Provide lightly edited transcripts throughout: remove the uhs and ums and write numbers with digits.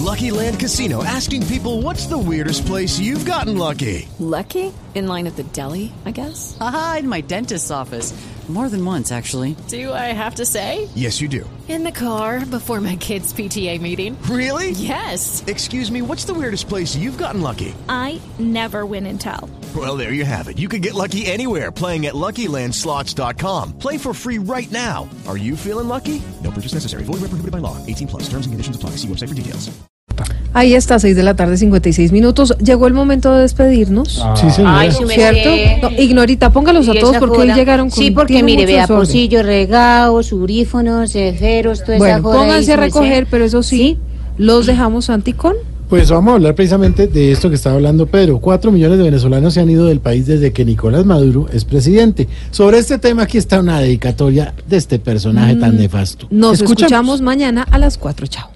Lucky Land Casino, asking people, what's the weirdest place you've gotten lucky? Lucky? In line at the deli, I guess? Aha, in my dentist's office. More than once, actually. Do I have to say? Yes, you do. In the car before my kids' PTA meeting. Really? Yes. Excuse me, what's the weirdest place you've gotten lucky? I never win and tell. Well, there you have it. You can get lucky anywhere, playing at LuckyLandSlots.com. Play for free right now. Are you feeling lucky? No purchase necessary. Void where prohibited by law. 18 plus. Terms and conditions apply. See website for details. Ahí está, 6 de la tarde, 56 minutos. Llegó el momento de despedirnos. Sí, señora. Ay, su ¿Cierto? merced. No, Ignorita, póngalos a Y todos esa porque joda. hoy llegaron con... Sí, porque tienen mire, mucho vea, desorden. pocillos, regados, audífonos, ceferos, toda esa Bueno, joda. pónganse a ahí, su recoger, merced. pero eso sí, los dejamos anticón. Pues vamos a hablar precisamente de esto que estaba hablando Pedro. 4 millones de venezolanos se han ido del país desde que Nicolás Maduro es presidente. Sobre este tema aquí está una dedicatoria de este personaje tan nefasto. Nos escuchamos mañana a las 4. Chao.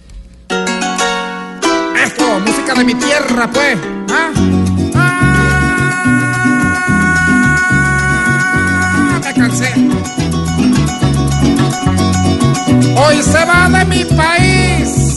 Esto, música de mi tierra, pues. Me cansé. Hoy se va de mi país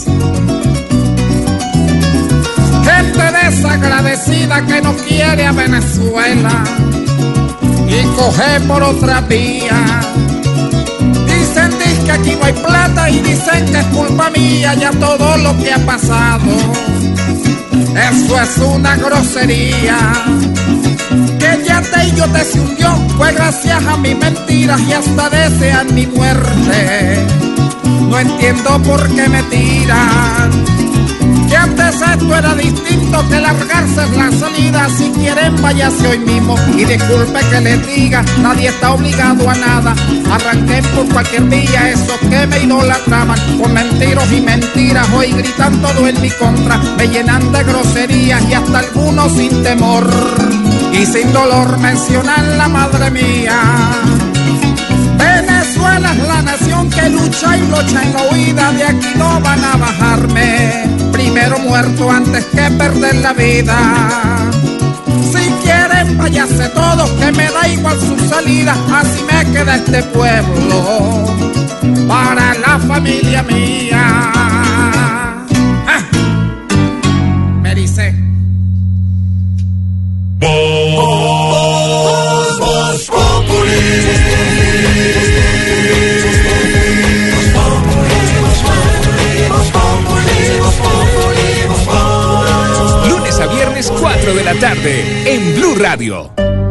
gente desagradecida que no quiere a Venezuela y coge por otra vía. Dicen que aquí no hay plata y dicen que es culpa mía ya todo lo que ha pasado. Eso es una grosería. Que ya te y yo te se hundió fue gracias a mis mentiras y hasta desean mi muerte. No entiendo por qué me tiran. Que antes esto era distinto, que largarse es la salida. Si quieren váyase hoy mismo y disculpe que les diga, nadie está obligado a nada. Arranqué por cualquier vía esos que me idolatraban con mentiros y mentiras. Hoy gritan todo en mi contra, me llenan de groserías y hasta algunos sin temor y sin dolor mencionan la madre mía. Venezuela es la nación que lucha y lucha en la huida, de aquí no van a bajarme. Primero muerto antes que perder la vida. Si quieren váyase todos, que me da igual su salida, así me queda este pueblo para la familia mía. Me dice. Lunes a viernes 4 de la tarde en Blue Radio.